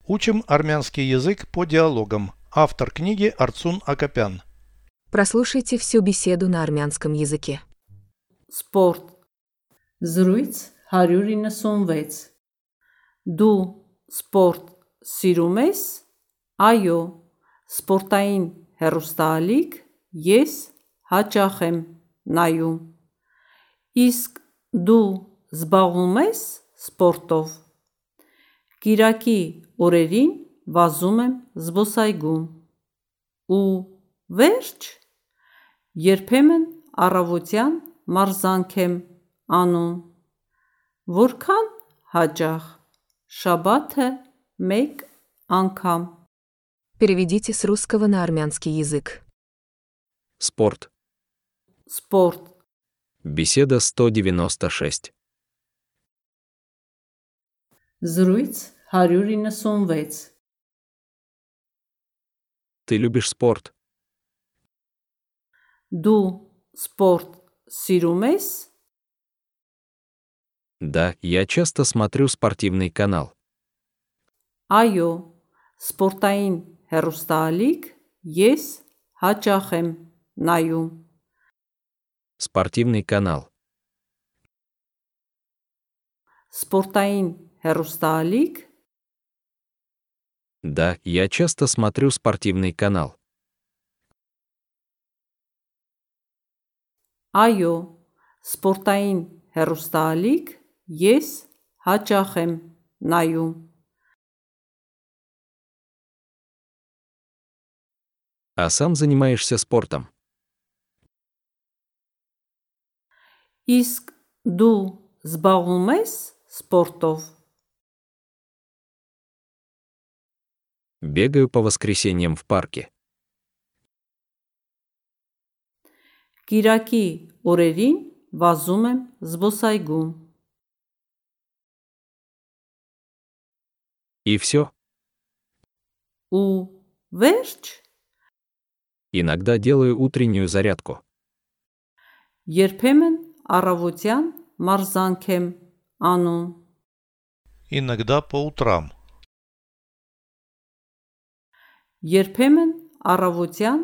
Учим армянский язык по диалогам. Автор книги Арцун Акопян. Прослушайте всю беседу на армянском языке. Սպորտ Զրույց 196 Դու սպորտ սիրում ես? Այո, սպորտային հեռուստաալիք ես հաճախ եմ նայում։ Իսկ դու զբաղվում ես սպորտով? Կիրակի օրերին վազում եմ զբոսայգում։ Ու վերջ, երբեմն առավոտյան մարզանք եմ անում։ Որքան հաճախ? Շաբաթը մեկ անգամ։ Переведите с русского на армянский язык. Спорт. Սպորտ Беседа 196. Զրույց 196 Ты любишь спорт? Դու սպորտ սիրում ես? Да, я часто смотрю спортивный канал. Այո, սպորտային հեռուստաալիք ես հաճախ եմ նայում։ Спортивный канал. Սպորտային հեռուստաալիք Да, я часто смотрю спортивный канал. Այո, սպորտային հեռուստաալիք ես հաճախ եմ նայում։ А сам занимаешься спортом? Իսկ դու զբաղվում ես սպորտով? Бегаю по воскресеньям в парке. Կիրակի օրերին վազում եմ զբոսայգում։ И все. Ու վերջ, Иногда делаю утреннюю зарядку. երբեմն առավոտյան մարզանք եմ անում։ Иногда по утрам. Երբեմն առավոտյան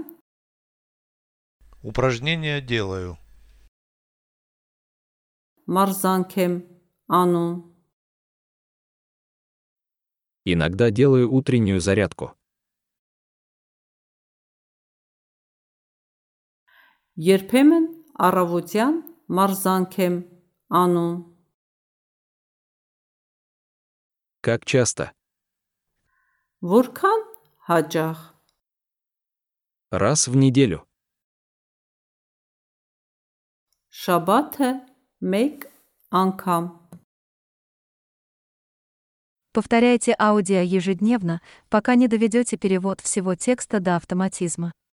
Упражнения делаю. մարզանք եմ անում։ Иногда делаю утреннюю зарядку. Երբեմն առավոտյան մարզանք եմ անում։ Как часто? Որքան հաճախ? Раз в неделю. Շաբաթը մեկ անգամ։ Повторяйте аудио ежедневно, пока не доведете перевод всего текста до автоматизма.